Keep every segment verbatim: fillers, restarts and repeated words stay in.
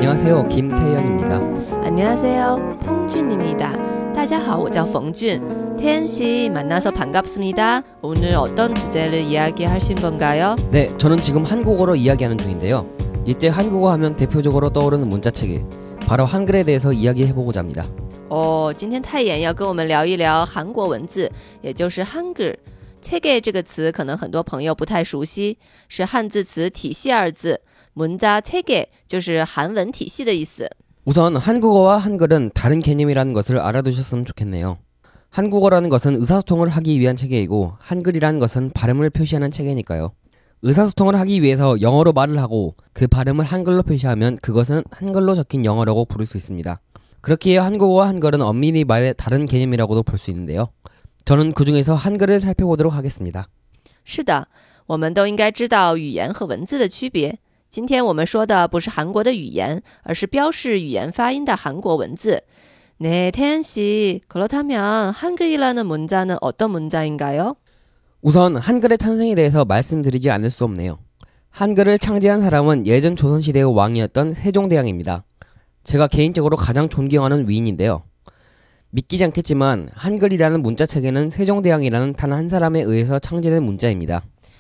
안녕하세요, 김태현입니다. 안녕하세요, 펑준입니다. 大家好，我叫冯俊。 태연 씨 만나서 반갑습니다. 오늘 어떤 주제를 이야기하신 건가요? 네, 저는 지금 한국어로 이야기하는 중인데요. 이때 한국어 하면 대표적으로 떠오르는 문자체계, 바로 한글에 대해서 이야기해보고자 합니다. 哦，今天太妍要跟我们聊一聊韩国文字，也就是 한글。 체계 这个词可能很多朋友不太熟悉，是汉字词体系二字， 문자 체계 就是韩文体系的意思。 우선 한국어와 한글은 다른 개념이라는 것을 알아두셨으면 좋겠네요. 한국어라는 것은 의사소통을 하기 위한 체계이고 한글이라는 것은 발음을 표시하는 체계니까요. 의사소통을 하기 위해서 영어로 말을 하고 그 발음을 한글로 표시하면 그것은 한글로 적힌 영어라고 부를 수 있습니다. 그렇기에 한국어와 한글은 엄밀히 말해 다른 개념이라고도 볼 수 있는데요. 저는 그 중에서 한글을 살펴보도록 하겠습니다. 是的，我们都应该知道语言和文字的区别。 今天我们说的不是韩国的语言，而是标示语言发音的韩国文字。 네, 태연 씨, 그렇다면 한글이라는 문자는 어떤 문자인가요? 우선 한글의 탄생에 대해서 말씀드리지 않을 수 없네요. 한글을 창제한 사람은 예전 조선시대의 왕이었던 세종대왕입니다. 제가 개인적으로 가장 존경하는 위인인데요. 믿기지 않겠지만 한글이라는 문자체계는 세종대왕이라는 단 한 사람에 의해서 창제된 문자입니다.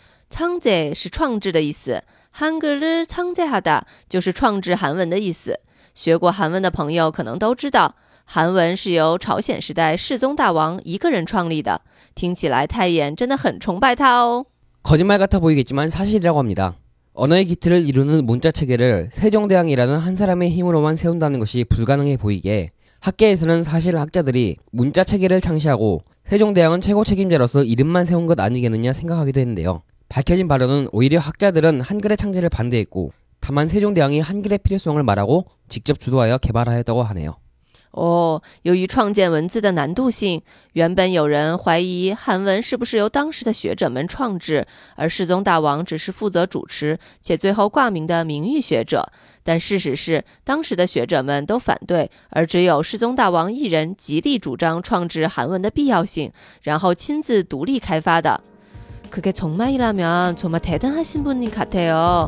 창제 是创制的意思， 한글을 창제하다 就是创制韩文的意思。 学过韩文的朋友可能都知道， 韩文是由朝鲜时代世宗大王一个人创立的。 听起来太妍真的很崇拜他哦。 거짓말 같아 보이겠지만 사실이라고 합니다. 언어의 기틀을 이루는 문자체계를 세종대왕이라는 한 사람의 힘으로만 세운다는 것이 불가능해 보이게 학계에서는 사실 학자들이 문자체계를 창시하고 세종대왕은 최고 책임자로서 이름만 세운 것 아니겠느냐 생각하기도 했는데요. 밝혀진 바로는 오히려 학자들은 한글의 창제를 반대했고 다만 세종대왕이 한글의 필요성을 말하고 직접 주도하여 개발하였다고 하네요. 哦，由于创建文字的难度性，原本有人怀疑韩文是不是由当时的学者们创制，而世宗大王只是负责主持且最后挂名的名誉学者。但事实是，当时的学者们都反对，而只有世宗大王一人极力主张创制韩文的必要性，然后亲自独立开发的。 그게 정말이라면 정말 대단하신 분인 같아요.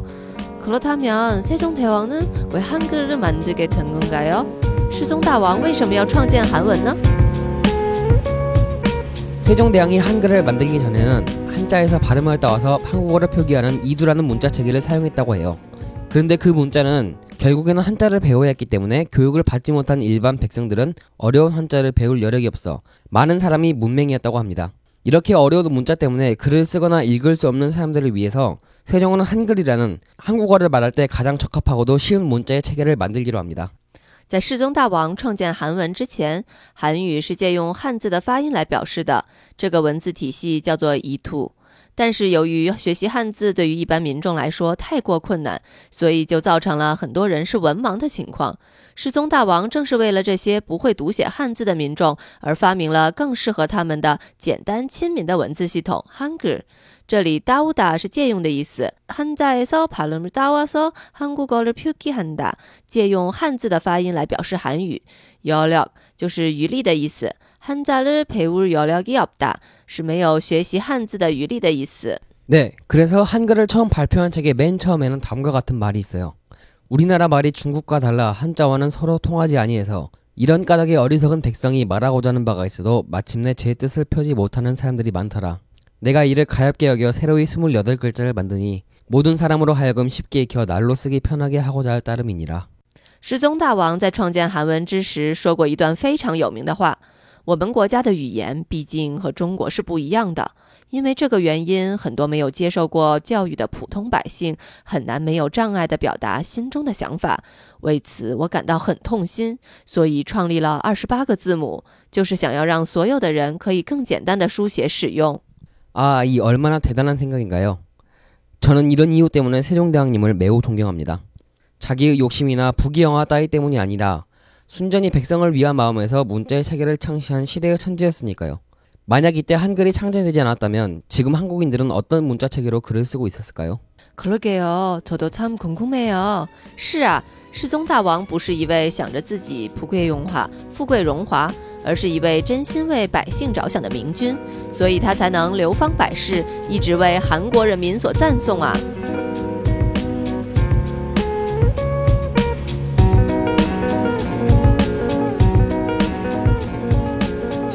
그렇다면 세종대왕은 왜 한글을 만들게 된 건가요? 世宗大王为什么要创建韩文呢? 세종대왕이 한글을 만들기 전에는 한자에서 발음을 따와서 한국어를 표기하는 이두라는 문자체계를 사용했다고 해요. 그런데 그 문자는 결국에는 한자를 배워야 했기 때문에 교육을 받지 못한 일반 백성들은 어려운 한자를 배울 여력이 없어 많은 사람이 문맹이었다고 합니다. 이렇게 어려운 문자 때문에 글을 쓰거나 읽을 수 없는 사람들을 위해서 세종은 한글이라는 한국어를 말할 때 가장 적합하고도 쉬운 문자의 체계를 만들기로 합니다. 在世宗大王创建韩文之前，韩语是借用汉字的发音来表示的，这个文字体系叫做이투。 但是由于学习汉字对于一般民众来说太过困难，所以就造成了很多人是文盲的情况。世宗大王正是为了这些不会读写汉字的民众而发明了更适合他们的简单亲民的文字系统 한글。 这里따오다是借用的意思， 한자에서 발음을 따와서 한국어를 표기한다， 借用汉字的发音来表示韩语。 여력 就是余力的意思， 한자를 배울 여력이 없다 是没有学习汉字的余力的意思。 네, 그래서 한글을 처음 발표한 책의 맨 처음에는 다음과 같은 말이 있어요. 우리나라 말이 중국과 달라 한자와는 서로 통하지 아니해서 이런 까닭에 어리석은 백성이 말하고자 하는 바가 있어도 마침내 제 뜻을 펴지 못하는 사람들이 많더라. 내가 이를 가엾게 여겨 새로이 스물여덟 글자를 만드니 모든 사람으로 하여금 쉽게 익혀 날로 쓰기 편하게 하고자 할 따름이니라. 世宗大王在创建韩文之时说过一段非常有名的话，我们国家的语言毕竟和中国是不一样的，因为这个原因，很多没有接受过教育的普通百姓很难没有障碍地表达心中的想法。为此我感到很痛心，所以创立了二十八个字母，就是想要让所有的人可以更简单的书写使用。 아, 이 얼마나 대단한 생각인가요? 저는 이런 이유 때문에 세종대왕님을 매우 존경합니다. 자기의 욕심이나 부귀영화 따위 때문이 아니라 순전히 백성을 위한 마음에서 문자의 체계를 창시한 시대의 천재였으니까요. 만약 이때 한글이 창제되지 않았다면 지금 한국인들은 어떤 문자 체계로 글을 쓰고 있었을까요? 그러게요. 저도 참 궁금해요. 是啊，世宗大王不是一位想着自己富贵荣华、富贵荣华，而是一位真心为百姓着想的明君，所以他才能流芳百世，一直为韩国人民所赞颂啊。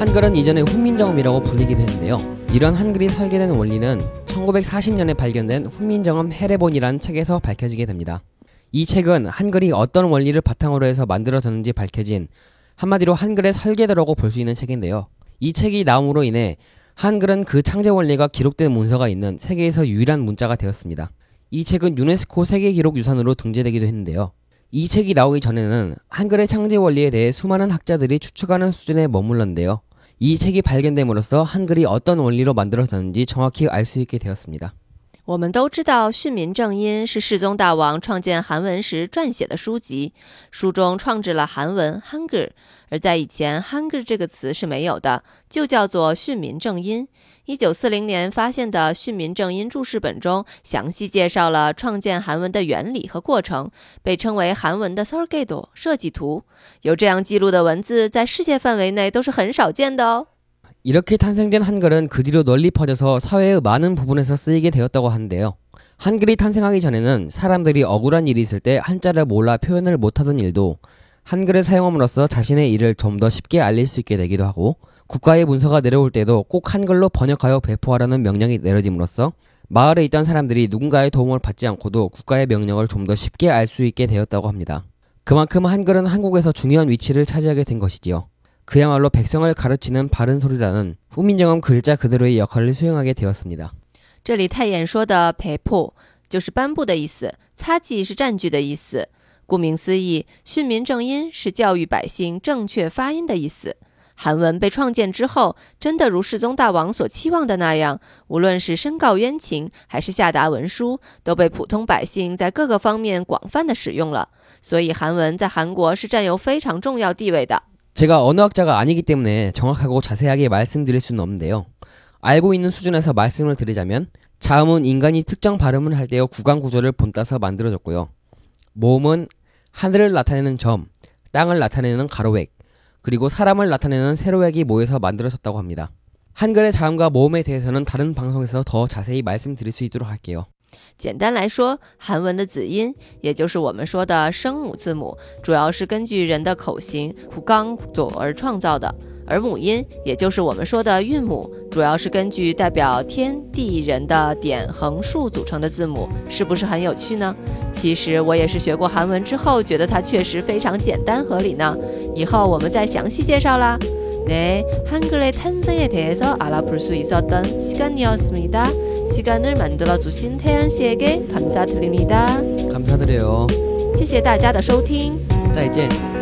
한글은 이전에 훈민정음이라고 불리기도 했는데요. 이런 한글이 설계된 원리는 천구백사십 년에 발견된 훈민정음 해례본이라는 책에서 밝혀지게 됩니다. 이 책은 한글이 어떤 원리를 바탕으로 해서 만들어졌는지 밝혀진 한마디로 한글의 설계도라고 볼 수 있는 책인데요. 이 책이 나옴으로 인해 한글은 그 창제 원리가 기록된 문서가 있는 세계에서 유일한 문자가 되었습니다. 이 책은 유네스코 세계기록유산으로 등재되기도 했는데요. 이 책이 나오기 전에는 한글의 창제 원리에 대해 수많은 학자들이 추측하는 수준에 머물렀는데요. 이 책이 발견됨으로써 한글이 어떤 원리로 만들어졌는지 정확히 알 수 있게 되었습니다. 我们都知道训民正音是世宗大王创建韩文时撰写的书籍，书中创制了韩文 Hangul， 而在以前 Hangul 这个词是没有的，就叫做训民正音。一九四零年发现的训民正音注释本中详细介绍了创建韩文的原理和过程，被称为韩文的 설계도 设计图。有这样记录的文字在世界范围内都是很少见的哦。 이렇게 탄생된 한글은 그 뒤로 널리 퍼져서 사회의 많은 부분에서 쓰이게 되었다고 하는데요. 한글이 탄생하기 전에는 사람들이 억울한 일이 있을 때 한자를 몰라 표현을 못하던 일도 한글을 사용함으로써 자신의 일을 좀 더 쉽게 알릴 수 있게 되기도 하고, 국가의 문서가 내려올 때도 꼭 한글로 번역하여 배포하라는 명령이 내려짐으로써 마을에 있던 사람들이 누군가의 도움을 받지 않고도 국가의 명령을 좀 더 쉽게 알 수 있게 되었다고 합니다. 그만큼 한글은 한국에서 중요한 위치를 차지하게 된 것이지요. 그야말로 백성을 가르치는 바른 소리라는 훈민정음 글자 그대로의 역할을 수행하게 되었습니다. 这里太演说的배포就是颁布的意思，擦记是占据的意思。顾名思义，训民正音是教育百姓正确发音的意思。韩文被创建之后，真的如世宗大王所期望的那样，无论是申告冤情还是下达文书，都被普通百姓在各个方面广泛的使用了。所以韩文在韩国是占有非常重要地位的。 제가 언어학자가 아니기 때문에 정확하고 자세하게 말씀드릴 수는 없는데요. 알고 있는 수준에서 말씀을 드리자면 자음은 인간이 특정 발음을 할 때의 구강 구조를 본따서 만들어졌고요. 모음은 하늘을 나타내는 점, 땅을 나타내는 가로획, 그리고 사람을 나타내는 세로획이 모여서 만들어졌다고 합니다. 한글의 자음과 모음에 대해서는 다른 방송에서 더 자세히 말씀드릴 수 있도록 할게요. 简单来说，韩文的子音，也就是我们说的声母字母，主要是根据人的口型구강 구조而创造的；而母音，也就是我们说的韵母，主要是根据代表天地人的点、横、竖组成的字母，是不是很有趣呢？其实我也是学过韩文之后，觉得它确实非常简单合理呢。以后我们再详细介绍啦。 네, 한글의 탄생에 대해서 알아볼 수 있었던 시간이었습니다. 시간을 만들어주신 태연 씨에게 감사드립니다. 감사드려요. 谢谢大家的收听。 再见。